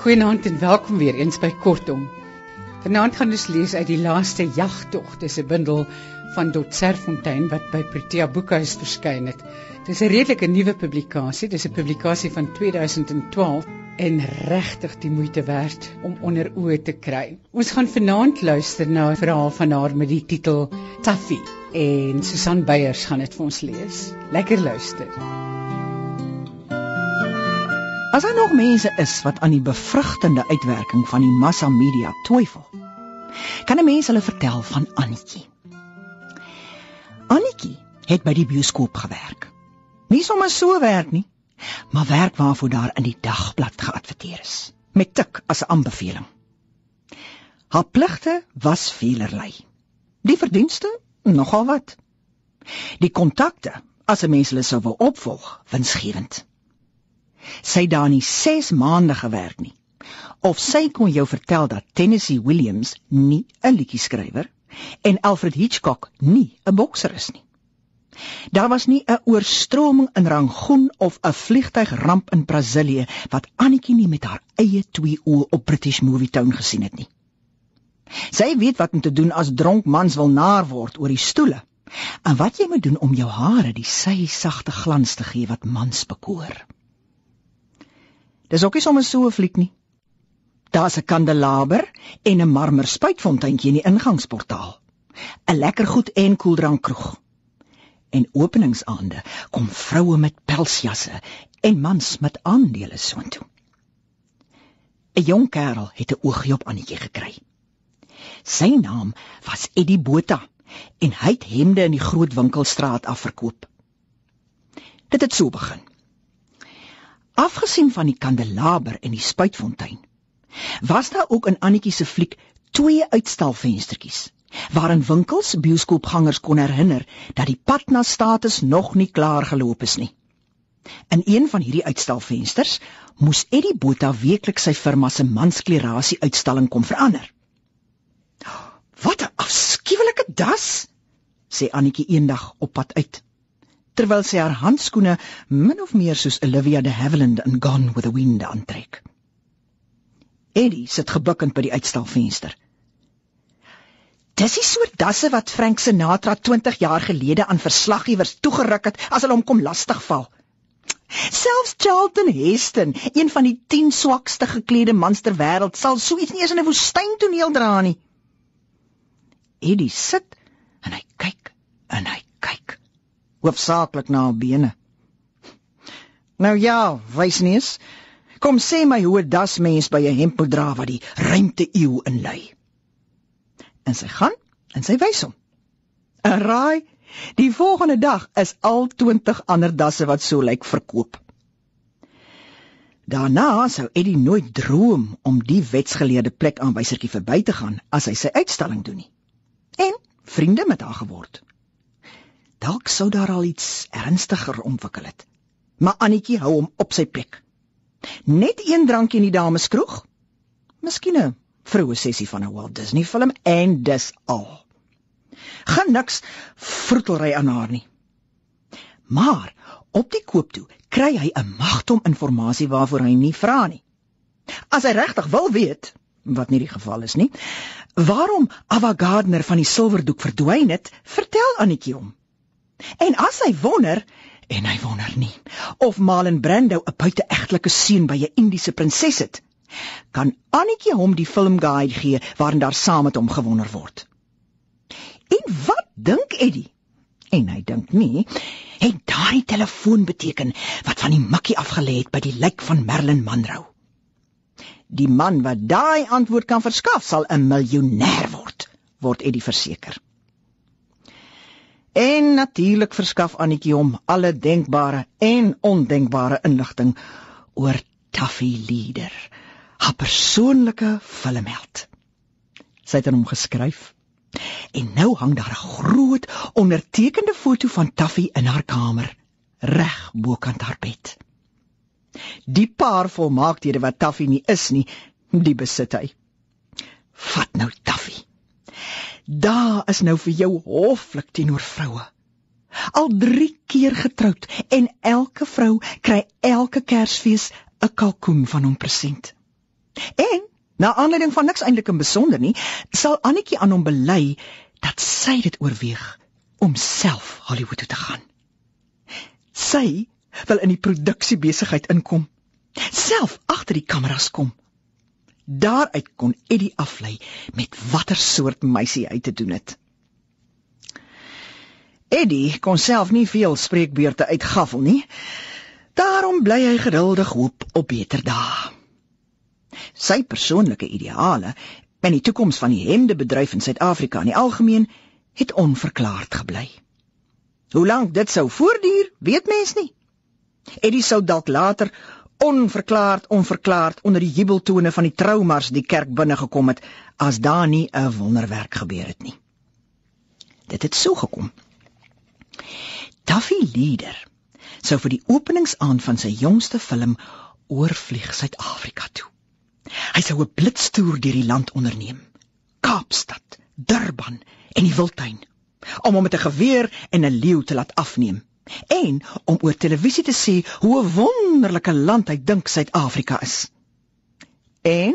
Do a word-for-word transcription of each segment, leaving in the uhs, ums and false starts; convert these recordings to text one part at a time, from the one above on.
Goeienaand en welkom weer eens by Kortom. Vanaand gaan ons lees uit die laaste jagtog. Dis 'n bundel van Dot Serfontein wat by Protea Boekhuis verskyn het. Dis 'n redelike nuwe publikasie. Dis 'n publikasie van tweeduisend twaalf en regtig die moeite werd om onder oë te kry. Ons gaan vanaand luister na 'n verhaal van haar met die titel Taffy en Susan Beyers gaan dit vir ons lees. Lekker luister. As daar nog mense is wat aan die bevrugtende uitwerking van die massamedia twyfel, kan 'n mens hulle vertel van Annetjie. Annetjie het by die bioskoop gewerk. Nie sommer so werk nie, maar werk waarvoor daar in die dagblad geadverteer is, met tik as 'n aanbeveling. Haar pligte was velerlei. Die verdienste, nogal wat. Die kontakte, as 'n mens hulle sou wou opvolg, winsgewend. Sy het daar nie ses maande gewerk nie, of sy kon jou vertel dat Tennessee Williams nie 'n liedjieskrywer en Alfred Hitchcock nie 'n bokser is nie. Daar was nie 'n oorstroming in Rangoon of 'n vliegtuigramp in Brasilië wat Annetjie nie met haar eie twee oë op British Movie Town gesien het nie. Sy weet wat om te doen as dronk mans wil naar word oor die stoele, en wat jy moet doen om jou hare die sy-sagte glans te gee wat mans bekoor. Dis ook nie sommer so 'n fliek nie. Daar's 'n kandelaber en 'n marmer spuitfonteintjie in die ingangsportaal. 'n lekker goed en koeldrankroeg. En openingsaande kom vroue met pelsjasse en mans met aandele soontoe. 'n Jong kerel het 'n oogie op Annetjie gekry. Sy naam was Eddie Botha en hy het hemde in die groot winkelstraat afverkoop. Dit het so begin. Afgesien van die kandelaber en die spuitfontein, was daar ook in Annetjie se fliek twee uitstalvenstertjies, waarin winkels bioskoopgangers kon herinner dat die pad na status nog nie klaar geloop is nie. In een van hierdie uitstalvensters moes Eddie Botha weekliks sy firma se mansklerasie uitstalling kom verander. Wat 'n afskuwelike das, sê Annetjie eendag op pad uit, terwyl sy haar handskoene min of meer soos Olivia de Havilland in Gone with the Wind aantrek. Eddie sit gebukkend by die uitstalvenster. Dis die soort dasse wat Frank Sinatra twintig jaar gelede aan verslaggewers toegeruk het as hulle hom kom lastigval. Selfs Charlton Heston, een van die tien swakste geklede mans ter wêreld, sal so iets nie eens in 'n woestyntoneel dra nie. Eddie sit en hy kyk en hy kyk. Hoofsaaklik na haar bene. Nou ja, wysneus, kom sê my hoe 'n dasmens by 'n hemp moet dra wat die ruimte eeu inlei. En sy gaan, en sy wys hom. En raai, die volgende dag is al twintig ander dasse wat so lyk verkoop. Daarna sou Eddie nooit droom om die wetsgeleerde plek aanwysertjie verby te gaan as hy sy uitstalling doen nie. En vriende met haar geword. Dalk sou daar al iets ernstiger ontwikkel het. Maar Annetjie hou hom op sy plek. Net een drankie in die dameskroeg. Miskien 'n vroue sessie van 'n Walt Disney film en dis al. Gaan niks vroetelry aan haar nie. Maar op die koop toe kry hy 'n magtom inligting waarvoor hy nie vra nie. As hy regtig wil weet, wat nie die geval is nie, waarom Ava Gardner van die silwerdoek verdwyn het, vertel Annetjie hom. En as hy wonder, en hy wonder nie, of Marlon Brando 'n buite-egtelike seun by 'n Indiese prinses het, kan Annetjie hom die filmguide gee waarin daar saam met hom gewonder word. En wat dink Eddie? En hy dink nie, het daardie telefoon beteken wat van die mikkie afgelê het by die lijk van Marilyn Monroe. Die man wat daai antwoord kan verskaf sal 'n miljonair word, word Eddie verseker. En natuurlik verskaf Annetjie hom alle denkbare en ondenkbare inligting oor Taffy Leader, haar persoonlike filmheld. Sy het aan hom geskryf, en nou hang daar 'n groot ondertekende foto van Taffy in haar kamer, reg bokant haar bed. Die paar volmaaktheden wat Taffy nie is nie, die besit hy. Vat nou Taffy. Daar is nou vir jou hoflik teenoor vroue. Al drie keer getroud en elke vrou kry elke Kersfees 'n kalkoen van hom present. En, na aanleiding van niks eintlik in besonder nie, sal Annetjie aan hom bely dat sy dit oorweeg om self Hollywood toe te gaan. Sy wil in die produksiebesigheid inkom, self agter die kameras kom. Daaruit kon Eddie aflei met watter soort meisie hy te doen het. Eddie kon self nie veel spreekbeurte uitgaffel nie, daarom bly hy geduldig hoop op beter dae. Sy persoonlike ideale en die toekoms van die hemdebedryf in Suid-Afrika in die algemeen het onverklaard gebly. Hoe lank dit sou voortduur, weet mens nie. Eddie sou dalk later onverklaard, onverklaard onder die jubeltone van die troumars die kerk binnengekom het, as daar nie 'n wonderwerk gebeur het nie. Dit het so gekom. Tuffy Leader sou vir die openingsaand van sy jongste film oorvlieg Suid-Afrika toe. Hy sou 'n blitstoer deur die land onderneem, Kaapstad, Durban en die Wildtuin, om hom met 'n geweer en 'n leeu te laat afneem, en om oor televisie te sê hoe 'n wonderlike land hy dink Suid-Afrika is. En,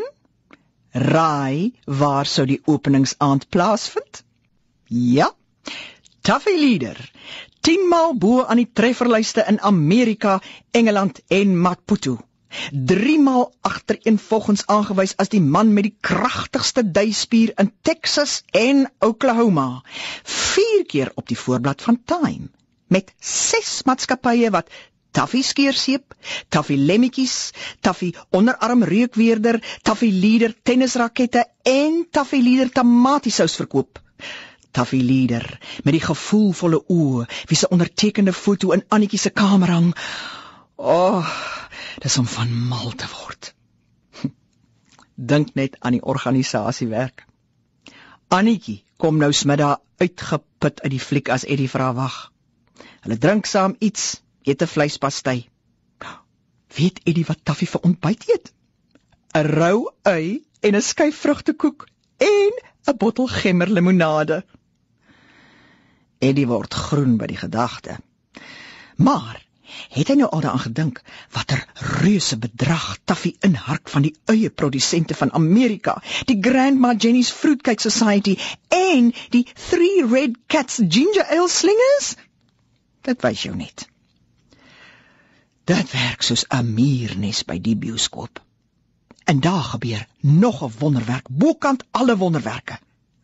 raai waar sou die openingsaand plaasvind? Ja, Tuffy Leader, tienmaal bo aan die trefferlyste in Amerika, Engeland en Maputo. Driemaal agtereenvolgens aangewys as die man met die kragtigste duispier in Texas en Oklahoma. Vier keer op die voorblad van Time, met ses maatskappye wat Tuffy skeerseep, Tuffy lemmetjies, Tuffy onderarmreukweerder, Tuffy Leader tennisrakette en Tuffy Leader tamatiesous verkoop. Tuffy Leader, met die gevoelvolle oë, wie se ondertekende foto in Annetjie se kamer hang. Oh, dis om van mal te word. Dink net aan die organisasiewerk. Annetjie kom nou smiddag uitgeput uit die fliek as Eddie vra wag. Hulle drink saam iets, eet 'n vleispastei. Weet Eddie wat Tuffy vir ontbyt eet? 'n Rou ui en 'n skyf vrugtekoek en 'n bottel gemmerlimonade. Eddie word groen by die gedagte. Maar het hy nou al daaraan gedink watter reuse bedrag Tuffy inhark van die eie produsente van Amerika, die Grandma Jenny's Fruitcake Society en die Three Red Cats Ginger Ale slingers? Dit wys jou net. Dit werk soos 'n muurnes by die bioskoop. En daar gebeur nog 'n wonderwerk, bokant alle wonderwerke.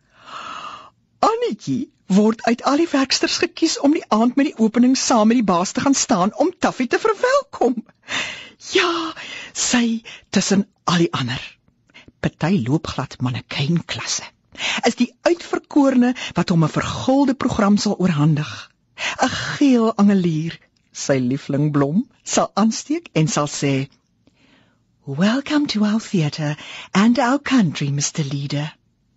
Annetjie word uit al die werksters gekies om die aand met die opening saam met die baas te gaan staan om Tuffy te verwelkom. Ja, sy tussen al die ander. Party loopglad mannekynklasse. Is die uitverkorene wat hom 'n vergulde program sal oorhandig. 'n Geel angelier, sy lieflingblom, sal aansteek en sal sê, "Welcome to our theatre and our country, Mister Leader."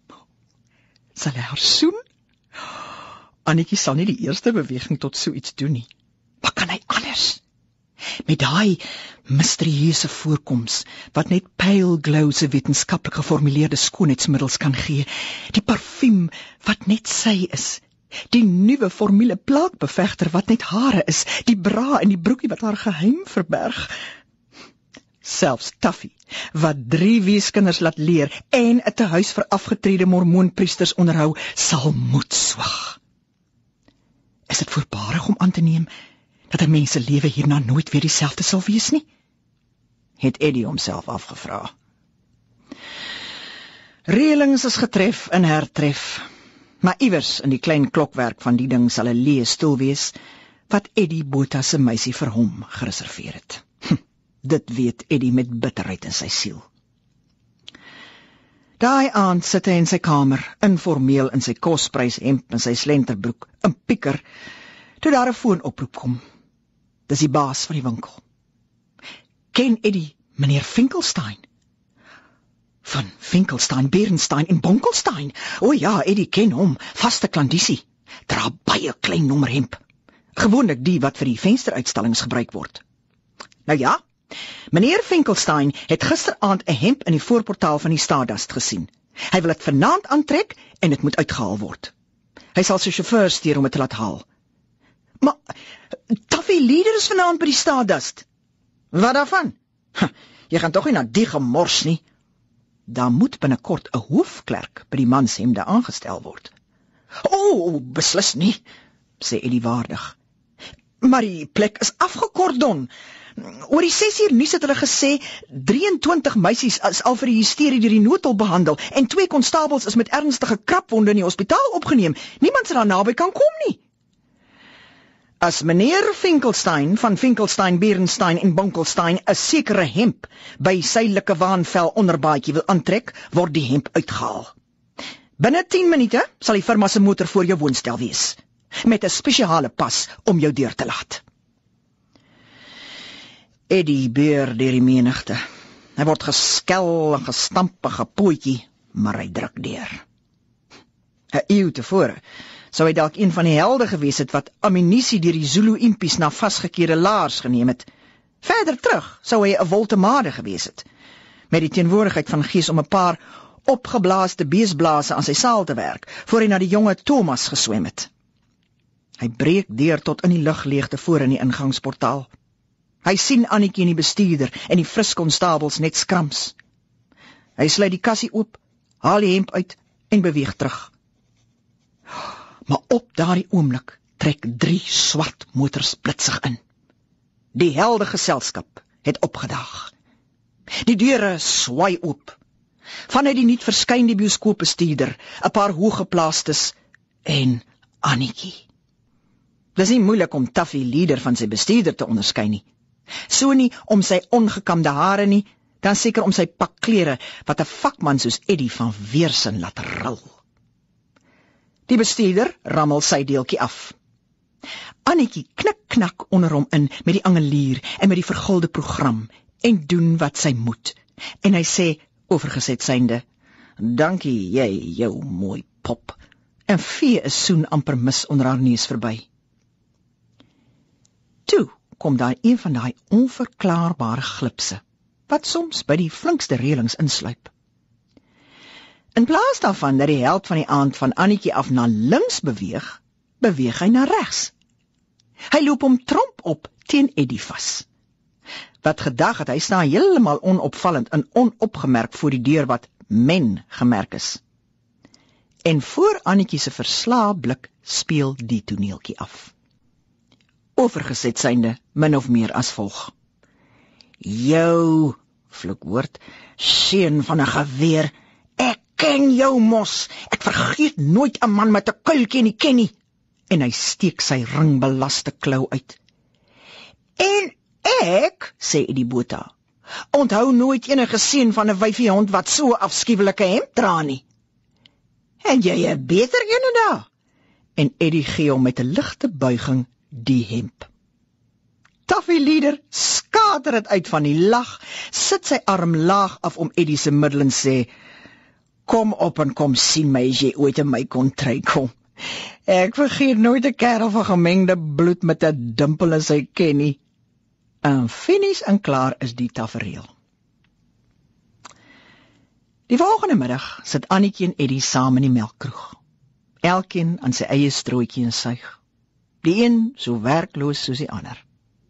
Sal hy haar soen? Annetjie sal nie die eerste beweging tot so iets doen nie. Wat kan hy anders? Met daai misterieuse voorkoms, wat net pale glow se wetenskaplik geformuleerde skoonheidsmiddels kan gee, die parfuum wat net sy is, die nuwe formule plaakbevegter wat net hare is, die bra en die broekie wat haar geheim verberg. Selfs Tuffy, wat drie weeskinders laat leer en 'n tehuis vir afgetrede mormoonpriesters onderhou, sal moed swag. Is dit voorbarig om aan te neem dat 'n mens se lewe hierna nooit weer dieselfde sal wees nie? Het Eddie homself afgevra. Reëlings is getref en hertref, maar iewers in die klein klokwerk van die ding sal 'n leë stoel wees wat Eddie Botha se meisie vir hom gereserveer het. Hm, dit weet Eddie met bitterheid in sy siel. Daai aand sit hy in sy kamer, informeel in sy kosprys hemp en sy slenterbroek, 'n pieker, toe daar 'n foonoproep kom. Dis die baas van die winkel. Ken Eddie meneer Finkelstein? Van Finkelstein, Berenstein en Bonkelstein. O ja, Eddie ken hom, vaste klandisie. Dra baie klein nommer hemp. Gewoonlik die wat vir die vensteruitstallings gebruik word. Nou ja, meneer Finkelstein het gisteraand 'n hemp in die voorportaal van die Stardust gesien. Hy wil dit vanaand aantrek en dit moet uitgehaal word. Hy sal sy chauffeur stuur om dit te laat haal. Maar Tuffy Leader is vanaand by die Stardust. Wat daarvan? Huh, jy gaan tog nie na die gemors nie. daar moet binnekort 'n hoofklerk by die manshemde aangestel word. O, oh, beslis nie, sê Eddie waardig. Maar die plek is afgekordon. Oor die ses uur nuus het hulle gesê, drieëntwintig meisies is al vir die hysterie deur die noodhulp behandel, en twee konstabels is met ernstige krapwonde in die hospitaal opgeneem. Niemand sal daar naby kan kom nie. As meneer Finkelstein van Finkelstein, Berenstein en Bonkelstein 'n sekere hemp by suidelike waanvel onderbaadjie wil aantrek, word die hemp uitgehaal. Binne tien minute sal die firma se motor voor jou woonstel wees, met 'n spesiale pas om jou deur te laat. Eddie beur deur die menigte. Hy word geskel en gestamp en gepootjie, maar hy druk deur. 'n Eeu tevore sou hy dalk een van die helde gewees het wat ammunisie deur die Zulu impies na vasgekeerde laars geneem het. Verder terug sou hy 'n woltemade gewees het, met die teenwoordigheid van gees om 'n paar opgeblaaste beesblase aan sy saal te werk, voor hy na die jonge Thomas geswem het. Hy breek deur tot in die lugleegte voor in die ingangsportaal. Hy sien Annetjie en die bestuurder en die fris konstabels net skrams. Hy sluit die kassie oop, haal die hemp uit en beweeg terug. Maar op daardie oomblik trek drie swart motors blitsig in. Die helde geselskap het opgedaag. Die deure swaai oop. Vanuit die niet verskyn die bioskoopbestuurder, 'n paar hooggeplaastes en Annetjie. Dis nie moeilik om Taffy Leader van sy bestuurder te onderskei nie. So nie om sy ongekamde hare nie, dan seker om sy pak klere wat 'n vakman soos Eddie van weersin laat ril. Die bestuurder rammel sy deeltjie af. Annetjie knik-knak onder hom in met die angelier en met die vergulde program en doen wat sy moet. En hy sê, oorgeset synde, dankie jy, jou mooi pop, en vee 'n soen amper mis onder haar neus verby. Toe kom daar een van daai onverklaarbare glipse, wat soms by die flinkste reëlings insluip. In plaas daarvan dat die held van die aand van Annetjie af na links beweeg, beweeg hy na regs. Hy loop hom tromp op teen Eddie vas. Wat gedag het, hy staan heeltemal onopvallend en onopgemerk voor die deur wat men gemerk is. En voor Annetjie se verslae blik speel die toneeltjie af. Oorgeset synde, min of meer as volg. Jou, vloek woord, seun van 'n geweer, ek ken jou mos, ek vergeet nooit 'n man met 'n kuiltjie nie ken nie. En hy steek sy ringbelaste klou uit. En ek, sê Eddie Botha, onthou nooit enige seun van 'n wyfiehond wat so afskuwelike hemp dra nie. En jy 'n beter ene daar. En Eddie gee hom met 'n ligte buiging die hemp. Taffy Leader skater dit uit van die lag, sit sy arm laag af om Eddie se middel en sê, kom op en kom sien my as jy ooit in my kontry kom. Ek vergeet nooit 'n kerel van gemengde bloed met 'n dimpel in sy ken nie. En finies en klaar is die tafereel. Die volgende middag sit Annetjie en Eddie saam in die melkkroeg. Elkeen aan sy eie strooitjie en suig. Die een so werkloos soos die ander.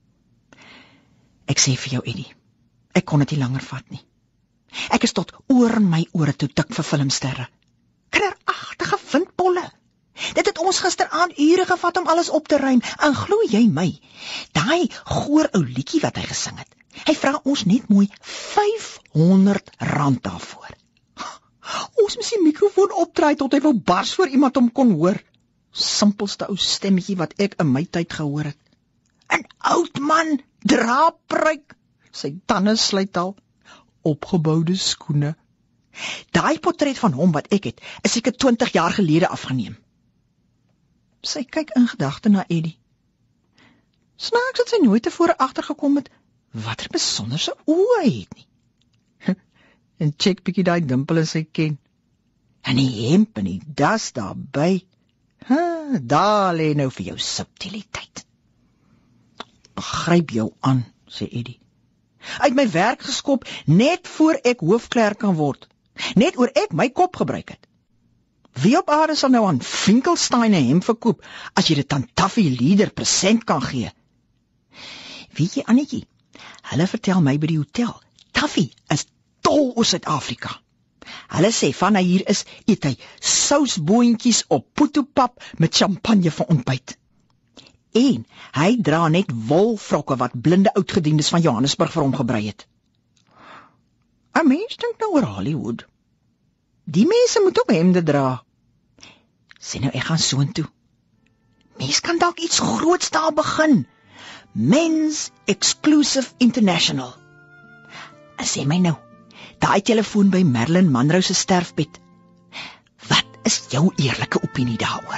Ek sê vir jou, Eddie, ek kon dit nie langer vat nie. Ek is tot oor my ore toe dik vir filmsterre. Kinderagtige windbolle. Dit het ons gisteraand ure gevat om alles op te ruim, en glo jy my, daai goor ou liedjie wat hy gesing het, hy vra ons net mooi vyfhonderd rand daarvoor. Ons moes die mikrofoon opdraai tot hy wou bars voor iemand hom kon hoor. Simpelste ou stemmetjie wat ek in my tyd gehoor het. 'n Oud man, dra pruik, sy tande sluit al, opgeboude skoene. Daai portret van hom wat ek het, is seker twintig jaar gelede afgeneem. Sy kyk in gedagte na Eddie. Snaaks het sy nooit tevore agtergekom het, wat 'n besonderse oë hy het nie. En check bietjie daai dimpel in sy ken. En die hemp en die das daarby. Ha, daar lê nou vir jou subtiliteit. Begryp jou aan, sê Eddie. Uit my werk geskop, net voor ek hoofklerk kan word. Net oor ek my kop gebruik het. Wie op aarde sal nou aan Finkelstein 'n hemp verkoop, as jy dit aan Taffy Leader present kan gee? Weet jy, Annetjie, hulle vertel my by die hotel, Taffy is dol oor Suid-Afrika. Hulle sê van hy hier is, eet hy sousboontjies op poetopap met champagne vir ontbyt. En hy dra net wolvrokke wat blinde oudgediendes van Johannesburg vir hom gebrei het. 'n Mens dink nou oor Hollywood. Die mense moet ook hemde dra. Sê nou, ek gaan soontoe. Mens kan dalk iets groots daar begin. Men's Exclusive International. En sê my nou, daai telefoon by Marilyn Monroe se sterfbed. Wat is jou eerlike opinie daaroor?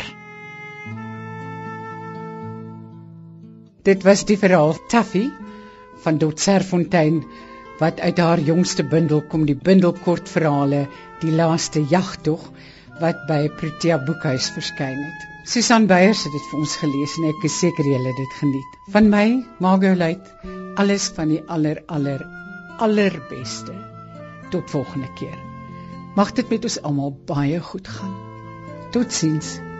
Dit was die verhaal Taffy van Dot Serfontein, wat uit haar jongste bundel kom, die bundel kortverhale Die Laaste Jagtog, wat by Protea Boekhuis verskyn het. Susan Beyers het dit vir ons gelees en ek is seker julle het dit geniet. Van my, Margot Luit, alles van die aller, aller, allerbeste. Tot volgende keer. Mag dit met ons almal baie goed gaan. Totsiens.